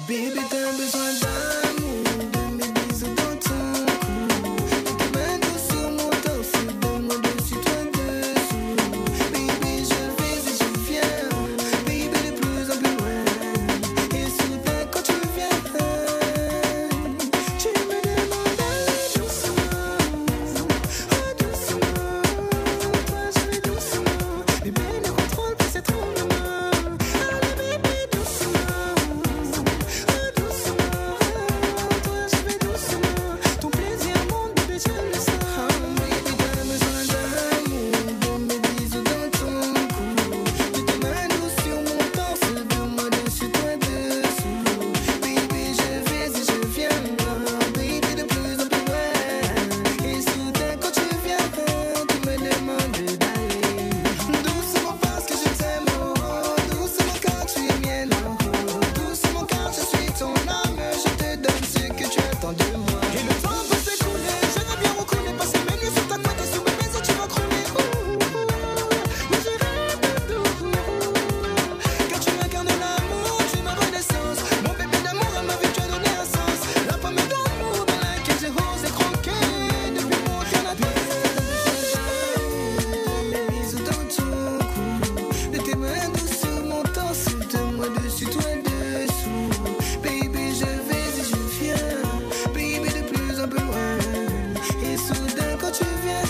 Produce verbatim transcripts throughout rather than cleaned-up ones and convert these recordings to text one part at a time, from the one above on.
Baby, t'as besoin d'amour, de mes bisous dans ton cou, de tes mains douces sur mon torse, de moi dessus, toi dessous. Baby, je vais et je viens, baby, de plus en plus loin. Et soudain, quand tu viens, tu me demandes doucement, oh doucement, toi je vais doucement. Bébé, ne contrôle pas ces tremblements. Allez, bébé, doucement, oh doucement, toi je vais doucement. Ton plaisir monte, bébé, je le sens. Baby, t'as besoin d'amour, de mes bisous dans ton cou, de tes mains douces sur mon torse, de moi dessus, toi dessous. Baby, je vais et je viens, baby, de plus en plus loin. Et soudain, quand tu viens, tu me demandes d'aller doucement parce que je t'aime, oh, oh, doucement quand tu es mienne, oh, oh, doucement quand je suis ton âme, je te donne ce que tu attends de moi. Et le temps peut s'écouler, j'aimerais bien reconnaître, passer mes nuits sur ta couette et sous mes baisers tu vas crouler. Ouh, ouh, ouh. Mais j'irai de doux, car tu incarnes l'amour, tu es ma renaissance. Mon bébé d'amour, à ma vie tu as donné un sens. La pomme d'amour dans laquelle j'ai osé croquer depuis mon canapé. Mes bisous dans ton cou, de tes mains douces sur mon torse, de moi dessus, toi dessous. Baby, je vais et je viens, baby, de plus en plus loin. Et soudain, quand tu viens,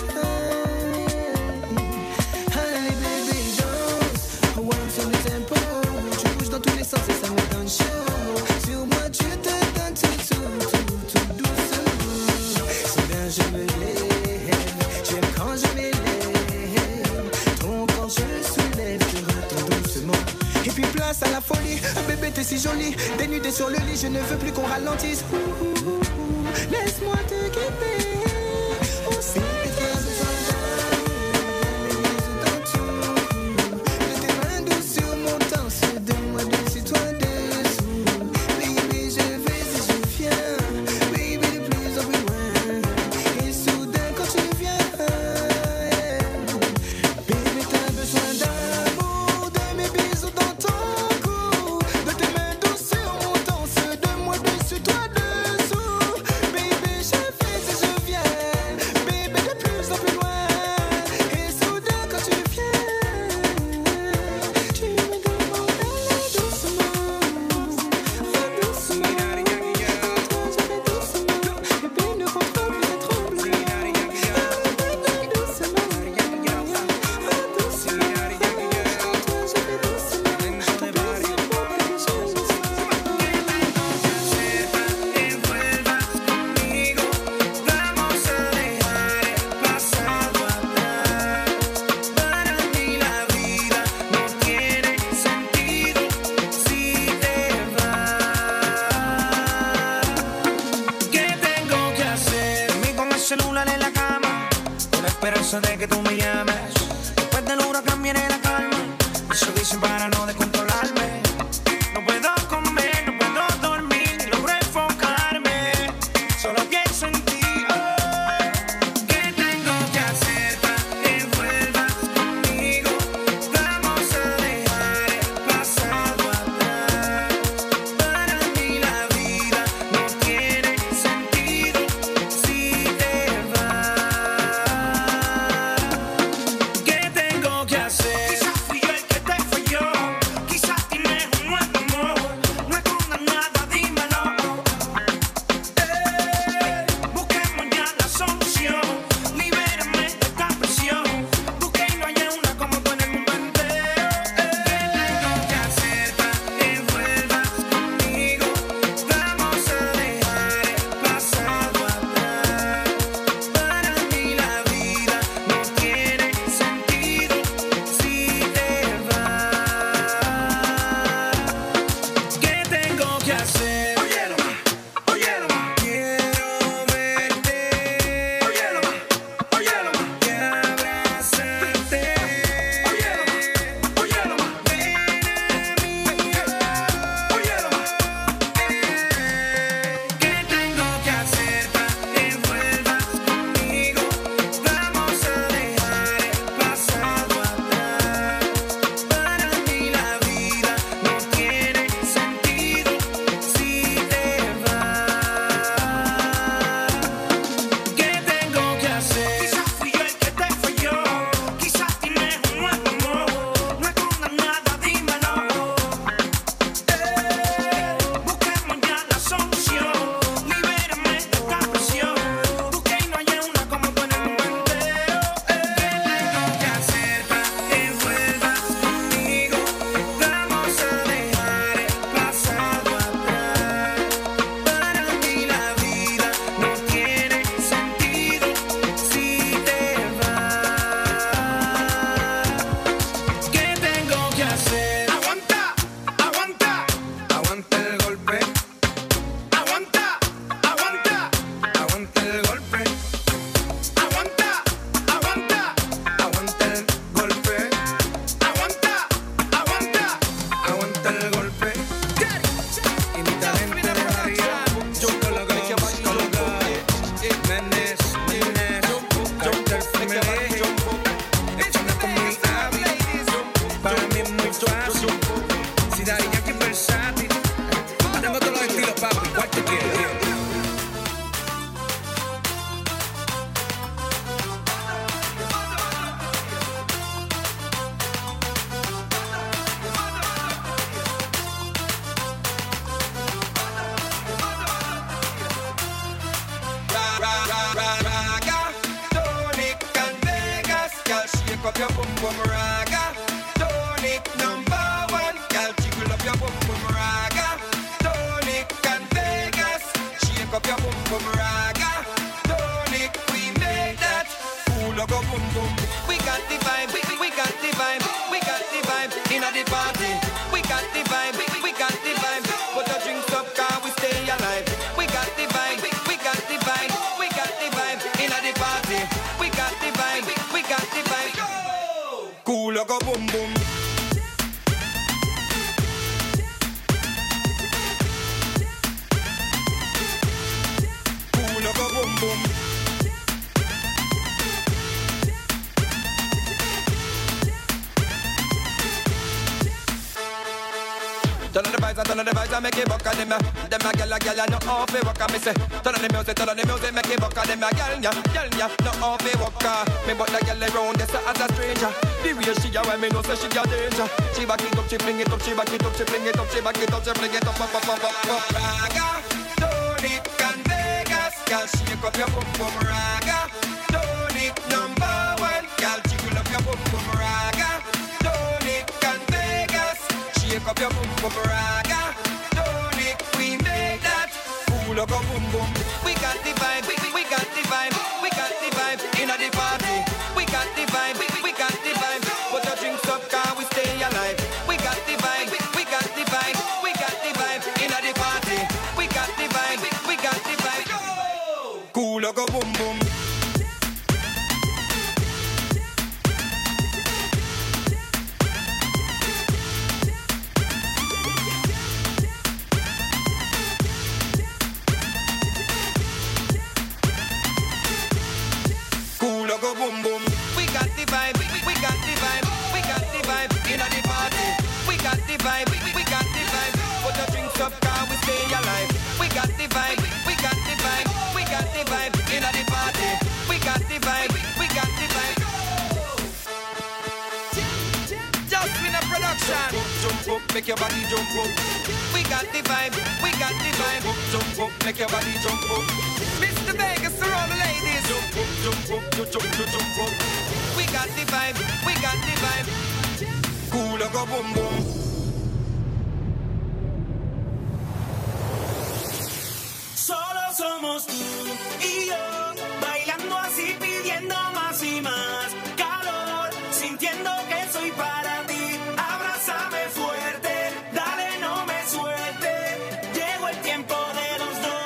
allez, baby, danse, one sur le tempo. Tu bouges dans tous les sens et ça me donne chaud. Sur moi, tu te donnes tout, tout, tout, tout doucement. Soudain, je me lève, j'aime quand je m'élève. Ton corps, je le soulève, je retourne doucement. Et puis place à la folie, bébé t'es si jolie. Dénudé sur le lit, je ne veux plus qu'on ralentisse. Ouh, ouh, ouh, ouh. Laisse-moi te guider. Oh, c'est t'as besoin d'amour, de mes bisous dans ton cou, de tes mains douces sur mon torse, de moi dessus, toi dessous. Baby, je vais et je viens, baby, de plus en plus loin. Et soudain, quand tu viens, baby, t'as besoin d'amour, de mes bisous dans ton cou, de tes mains douces sur mon torse, de moi dessus, toi dessous. Baby, je vais et je viens, baby, de plus en plus loin. Et soudain, quand tu viens, tu me demandes d'aller doucement, oh doucement. Toi, je vais doucement, bébé, ne contrôle plus les tremblements. Allez, bébé, doucement, oh doucement. Toi, je vais doucement, ton plaisir monte, bébé, je le sens. Celular en la cama, con la esperanza de que tú me llames. Después del huracán viene la calma. Eso dicen para no descontrolarme. No puedo comer, no puedo dormir, ni logro enfocarme. Solo pienso en ti. Oh, ¿qué tengo que hacer para que vuelvas conmigo? Vamos a dejar el pasado atrás. Para mí la vida no tiene sentido si te vas. ¿Qué tengo que hacer? Quizás fui yo el que te falló. up your boom boom raga. Tonic number one, girl, jiggle up your boom boom raga. Tonic and Vegas, shake up your boom boom raga. Tonic, we made that. Cool go boom boom. We got the vibe, we, we got the vibe, we got the vibe in the party. We got the vibe, we, we got the vibe. Put the drinks up, car we stay alive. We got the vibe, we, we got the vibe, we got the vibe in the party. We got the vibe, we, we got the vibe. Cool go boom boom. Cool go boom boom. Turn on the vibes, turn on the vibes, I make it buck on them. Them a gyal, a gyal, no off it walk. Me say, turn on the music, turn on the music, make it buck on them. A gyal, ya, gyal, ya, no off it walk. Me but the gyal around this as a stranger. The way she a when me know say she a danger. She back it up, she fling it up, she back it up, she fling it up, she back it up, she fling it up, up, up, up, up, up. Raga, Tonic and Vegas, gyal, shake up your bum bum raga. Tonic number one, gyal, jiggle up your bum bum raga. Tonic and Vegas. Shake up your boom boom raga. Tonic, we made that. Cool go boom boom. We got the vibe, we, we got the vibe, we got the vibe in the party. We got the vibe, we, we got the vibe. Put the drinks up, car we stay alive. We got the vibe, we, we got the vibe, we got the vibe in the party. We got the vibe, we, we got the vibe. Cool go boom boom. Go boom boom. We got the vibe, we, we got the vibe, we got the vibe in the party. We got the vibe, we, we got the vibe. Put the drinks up, car we stay alive. We got the vibe, we got the vibe, we got the vibe in the party. We got the vibe, we got the vibe. Just in a production. Jump up, make your body jump up. We got the vibe, we got the vibe. Jump up, make your body jump up. Mister Vegas for all the ladies. Jump up, jump up, jump, jump, jump, jump up. We got the vibe, we got the vibe. Cool go boom boom. Solo somos tú y yo, bailando así, pidiendo más y más calor, sintiendo que soy para ti. Abrázame fuerte, dale, no me suelte. Llegó el tiempo de los dos.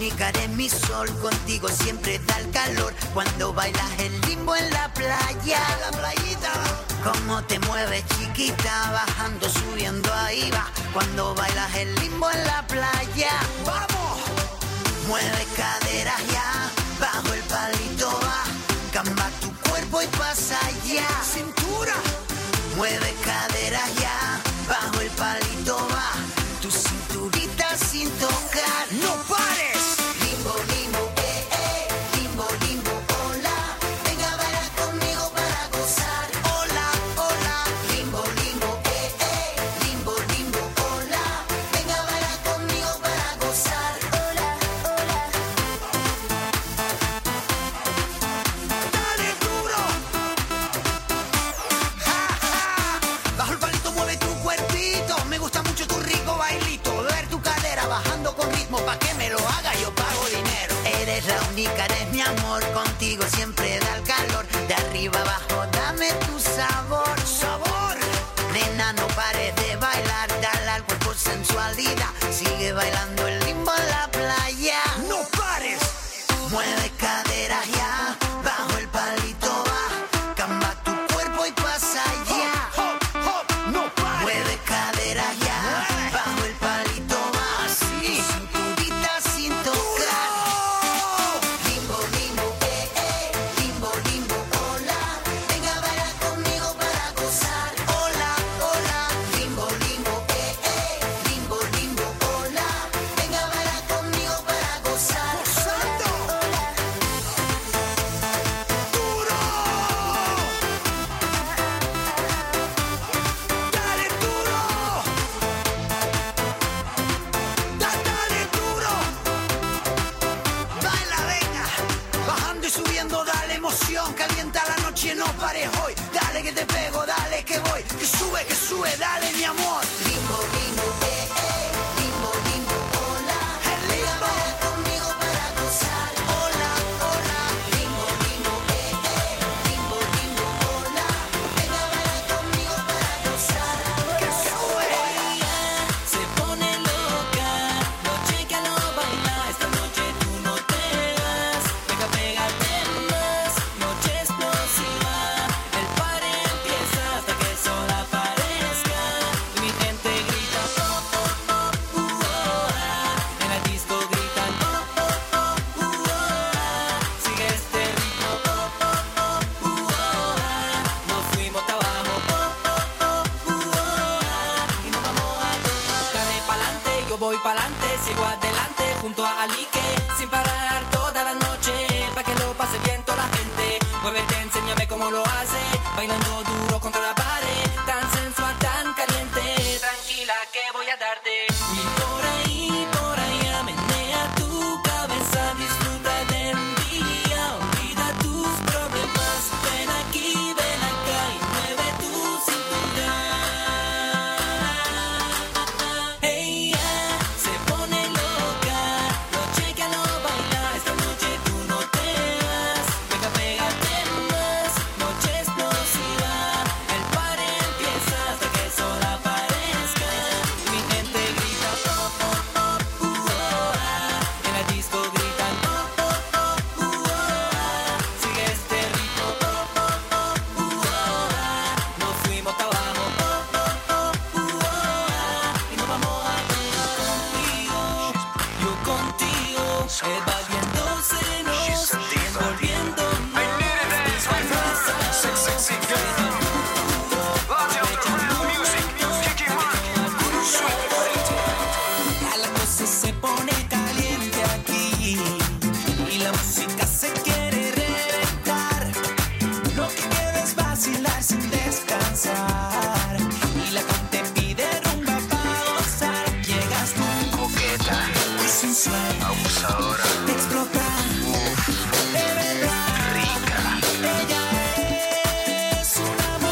única, eres mi sol, contigo siempre da el calor. Cuando bailas el limbo en la playa, la playita. Cómo te mueves chiquita, bajando, subiendo, ahí va. Cuando bailas el limbo en la playa, vamos. Mueve caderas ya, bajo el palito va. Camba tu cuerpo y pasa allá. Cintura. Mueve caderas ya, bajo el palito va. Tu cinturita sin tocar. ¡No pares! Limbo, limbo, eh, eh. Limbo, limbo, hola. Venga a bailar conmigo para gozar. Hola, hola. Limbo, limbo, eh, eh. Limbo, limbo, hola. Venga a bailar conmigo para gozar. Hola, hola. Dale duro. Ja, ja. Bajo el palito mueve tu cuerpito. Me gusta mucho tu rico bailito. Ver tu cadera bajando con ritmo. Pa' que me lo haga yo pago dinero. Eres la única, eres mi amor. Contigo siempre da el calor. De arriba abajo dame tu sabor. Sabor. Nena, no pares de bailar. Dale al cuerpo sensualidad. Sigue bailando el limbo en la playa. No pares. Mueve caderas ya. Bajo el palito va. Camba tu cuerpo y pasa allá. Hop, hop, hop. No pares. Mueve caderas ya. Bajo el palito va. Así. Cinturita sin tocar. Limbo, limbo, eh, eh. Limbo, limbo, hola. Venga a bailar conmigo para gozar. Hola, hola. Limbo, limbo, eh, eh. Limbo, limbo, hola. Venga a bailar conmigo para gozar. ¡Gozando! Hola. ¡Duro! ¡Dale duro! Da, dale duro. Baila, venga. Bajando y subiendo, dale emoción. Calienta la noche, no pares hoy. Dale que te pego, dale que voy. Que sube, que sube, dale mi amor. Limbo, limbo, eh, eh. Limbo, limbo, hola. Venga a bailar conmigo para gozar. Hola, hola. Limbo, limbo, eh, eh. Limbo, limbo, hola. Venga a bailar conmigo para gozar. Que sube. Se pone loca, noche que no baila, esta noche tú no te vas. Venga, pégate más, noche explosiva. El party empieza hasta que el sol aparezca. Y mi gente grita, oh, oh, oh, uh, oh, ah. En la disco gritan, oh, oh, oh, uh, oh, ah. Sigue este ritmo, oh, oh, oh, uh, oh, ah. Nos fuimos hasta abajo, oh, oh, oh, uh, oh, ah. Y nos vamos a tomar. Dale pa'lante, yo voy pa'lante, sigo adelante junto a Alique, sin parar toda la noche, pa' que lo pase bien toda la gente. Muévete, enséñame cómo lo hace, bailando duro contra la pared, tan sensual, tan caliente. Tranquila que voy a darte. Y por ahí, por allá, menea tu cabeza, disfruta del día, olvida tus problemas. Ven aquí, ven acá y mueve tu cintura. Ella se pone loca, noche que no baila, esta noche tú no te vas. Venga, pégate más, noche explosiva. El party empieza hasta que el sol aparezca. Y mi gente grita, oh, oh, oh, uh, oh, ah. En la disco gritan, oh, oh, oh, uh, oh, ah. Sigue este ritmo, oh, oh, oh, uh, oh, ah. Nos fuimos hasta abajo, oh, oh, oh, uh, oh, ah. Y nos vamos a tomar contigo, yo contigo, evadiéndosenos, volviéndonos. Ya la cosa se pone caliente aquí y la música se quiere reventar. Lo que queda es vacilar sin descansar y la gente pide rumba pa' gozar. Llegas tú, Coqueta, muy sensual, abusadora, te explota, de verdad. rica. Ella es una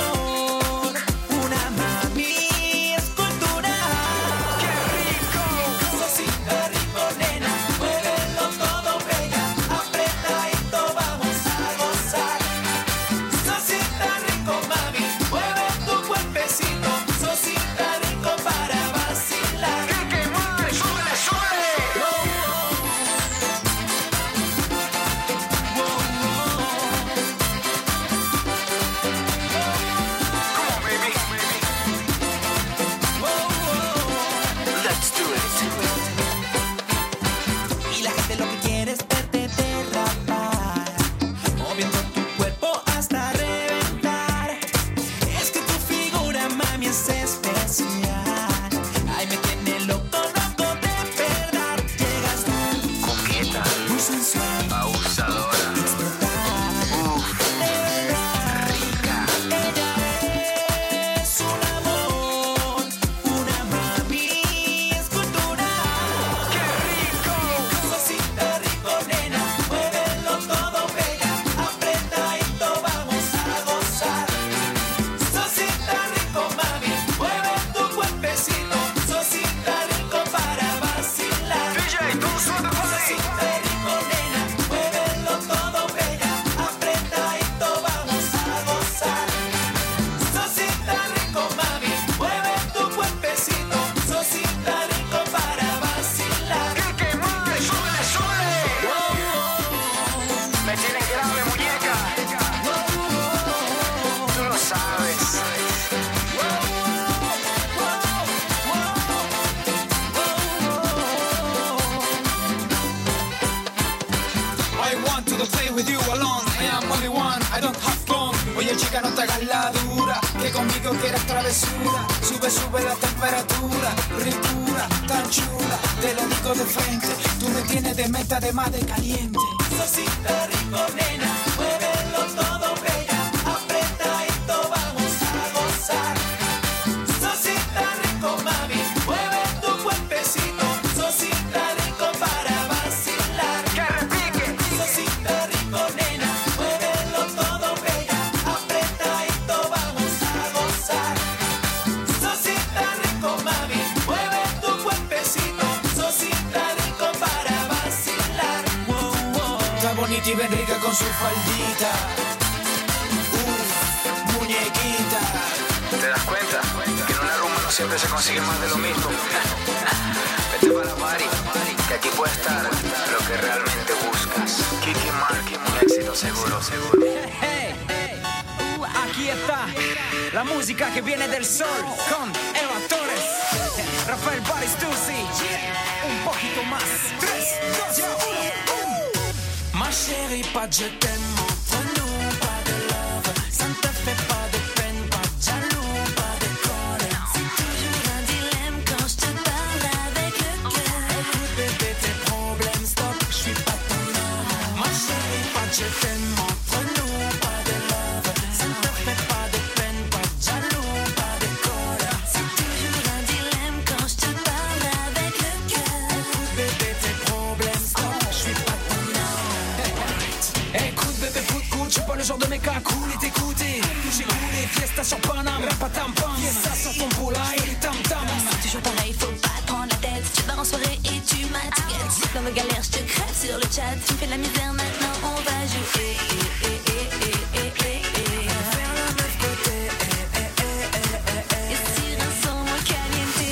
chica, no te hagas la dura, que conmigo quieres travesura. Sube, sube la temperatura, ricura, tan chula. Te lo digo de frente, tú me tienes de meta, de más de caliente. Sosita rico, nena, muévelo todo, bella. Apretadito, vamos a gozar. Sosita rico, mami, mueve tu cuerpecito. Sosita rico para vacilar. Que repique. Sosita rico, nena, muévelo todo, bella. Apretadito, vamos a gozar. Sosita rico, mami, mueve tu cuerpecito. Sosita rico para vacilar. Wow, wow. Está bonita y bien rica con su faldita. Uf, muñequita. ¿Te das cuenta? Que en una rumba no siempre se consigue más de lo mismo. Vete para la party, que aquí puede estar lo que realmente buscas. Kiki Marky, un éxito seguro, seguro. Hey, hey, aquí está la música que viene del sol con Eva Torres, Rafael Baristucci, un poquito más. Tres, dos, uno. Ma chérie, pas de je t'aime entre nous, pas de love. Ça ne te fait pas de peine, pas de jaloux, pas de colère. C'est toujours un dilemme quand je te parle avec le cœur. Écoute bébé, tes problèmes, stop, je suis pas ton homme. Ma chérie, pas de je t'aime entre nous, pas de love. Ça ne te fait pas de peine, pas de jaloux, pas de colère. C'est toujours un dilemme quand je te parle avec le cœur. Écoute bébé, tes problèmes, stop, je suis pas ton homme. Écoute bébé, foot cool, je suis pas le genre de mec à cool et t'écouter. J'ai coulé, fiesta sur Paname, rapatam-pam, fiesta sur ton poulaille, et tam-tam. C'est toujours pareil, faut pas te prendre la tête. Tu pars en soirée et tu m'attiques. Si dans mes galères, je te crève sur le chat. Tu me fais la misère, maintenant on va jouer. Eh, eh, eh, eh, eh, eh, eh. Faire la meuf côté, eh, eh, eh, eh, eh, eh. Et si un son muy caliente.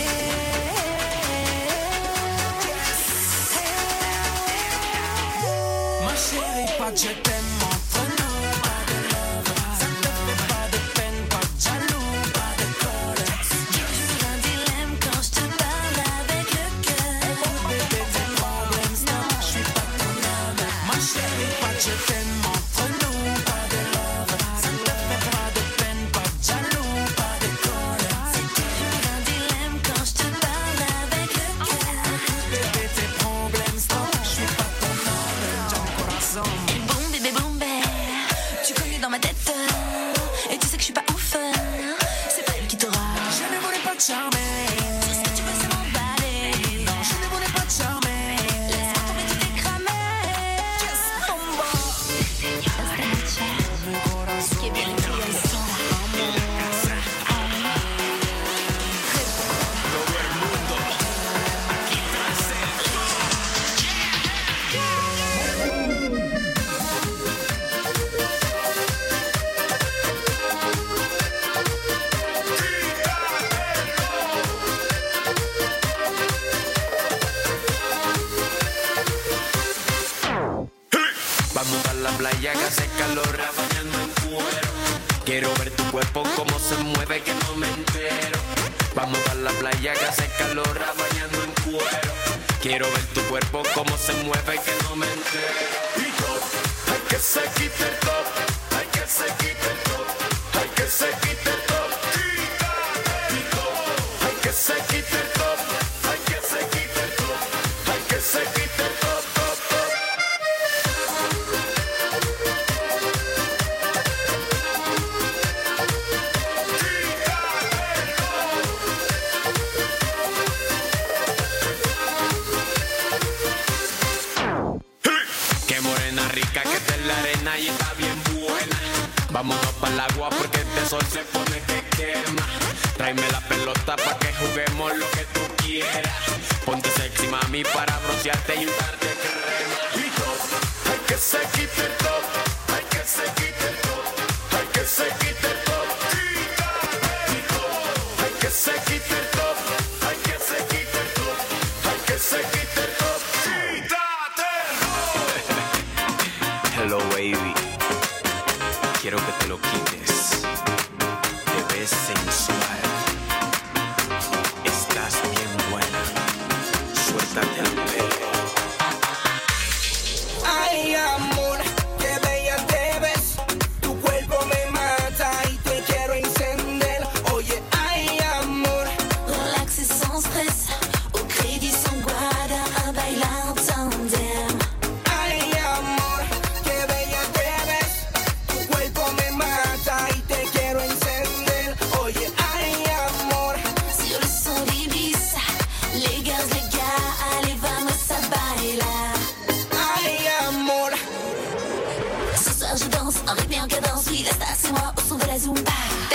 Ma chérie, pas de je t'aime entre nous, pas de love. Ça ne te fait pas de peine, pas de jaloux, pas de colère. Toujours un dilemme quand je te parle avec le cœur. Bébé, tes problèmes, stop, je suis pas ton homme. Ma chérie, pas de je t'aime entre nous, pas de love. Ça ne te fait pas de peine, pas de jaloux, pas de colère. C'est toujours un dilemme quand je te parle avec le cœur. Bébé, tes problèmes, stop, je suis pas ton homme. Ton corazon. Boum bébé boum bé, tu connais dans ma tête. Et tu sais que je suis pas ouf. C'est pas elle qui t'aura. Je ne voulais pas te charmer. Tout ce que tu veux c'est m'emballer. Non, je ne voulais pas te charmer. Laisse-moi tomber, tu t'es cramé. Bombo. Esta noche que viene tu corazón. Vamos a la playa que hace calor, bañando en cuero. Quiero ver tu cuerpo como se mueve, que no me entero. Vamos a la playa que hace calor, bañando en cuero. Quiero ver tu cuerpo como se mueve, que no me entero. Y top, hay que se quite el top, hay que se quite el top, hay que se quite el top. Y top, hay que se quite el top, hay que se quite el top, hay que se quite el top, top, top. Qué morena rica que está en la arena y está bien buena. Vámonos para el agua porque este sol se pone que quema. Tráeme la pelota pa' que juguemos lo que tú quieras. Ponte sexy mami para broncearte y untarte crema. Y top, hay que se quite el top, hay que se quite el top, hay que se quite el top. Y top, hay que se quite el top, hay que se quite el top, hay que se quite el top. Hello baby, quiero que te lo quites. Te ves sensual, estás bien buena. Suéltate el pelo. Ay, amor, qué bella te ves. Tu cuerpo me mata.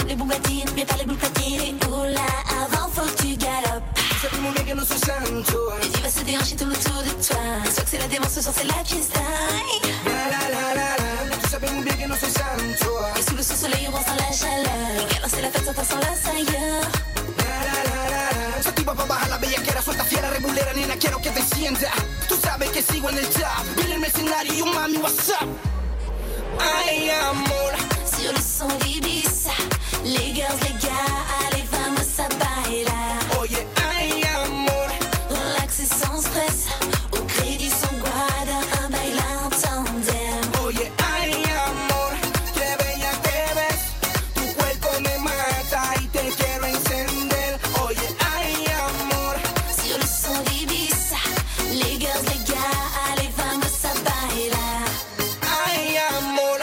les Bugatti, mais pas les boules platines. Et oula, avant faut que tu galopes. Sappiamo bene che non sei santo. Et tu vas se déhancher tout autour de toi. Soit que c'est la démence, soit c'est la fiesta. La la la la la. Tu sappiamo bene che non sei santo. Et sous le sous-soleil, on ressent la chaleur. Et alors c'est la fête, ça sent la sailleur. La la la la la. Senti papà baja la bellaquera, suelta fiera, regulera, nena, quiero que te sienta. Tú sabes que sigo en el top. Viene el mercenario, yo mami, what's up? Ay, amor. Sur le son d'Ibiza, les girls, les gars, allez, vamos a bailar. Oye, ay, amor. Relax et sans stress, au crédit sans guarda, un baile en tandem. Oye, ay, amor. Qué bella te ves. Tu cuerpo me mata y te quiero encender. Oye, ay, amor. Sur le son d'Ibiza, les girls, les gars, allez, vamos a bailar. Ay, amor.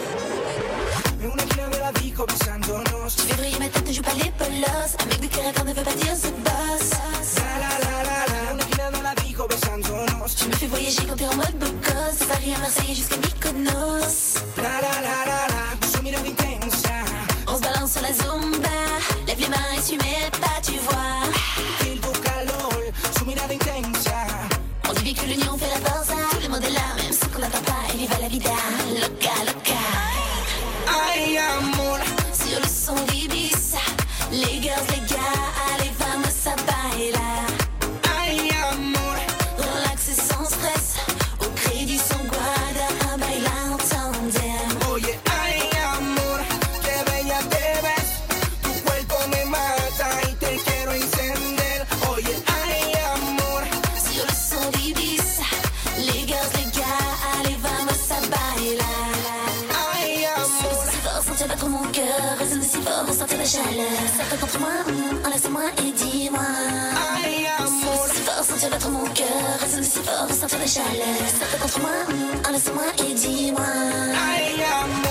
Mais una qui me la dico besándonos. Tu fais briller ma tête, ne joue pas les polos. Un mec de caractère ne veut pas dire the boss. La la la la la. Una qui me la dico besándonos. Tu me fais voyager quand t'es en mode beau gosse. De Paris à Marseille jusqu'à Mykonos. La la la la la. Su mirada intensa. On se balance sur la zumba. Lève les mains et tu mets pas, tu vois. Il tu calor. Su mirada intensa. On dit bien que l'union fait la force. Tout le monde est là, même ceux qu'on n'attend pas. Et viva la vida, loca, loca. Ay, amor. Sur le son d'Ibiza, les girls, les gars, allez, vamos a bailar. Ay, amor. Relax et sans stress, au crédit sans guarda, un baile en tandem. Oye, ay, amor. Qué bella te ves. Tu cuerpo me mata y te quiero encender. Oye, ay, amor. Sur le son d'Ibiza, les girls, les gars, allez, vamos a bailar. Ay, amor. Si fort, sentir battre mon cœur, résonne si fort, ressentir la chaleur. Certains contre moi, mm, enlace-moi et dis-moi. Ay, amor. Si fort, sentir battre mon cœur, résonne si fort, ressentir la chaleur. Certains contre moi, mm, enlace-moi et dis-moi. Ay, amor.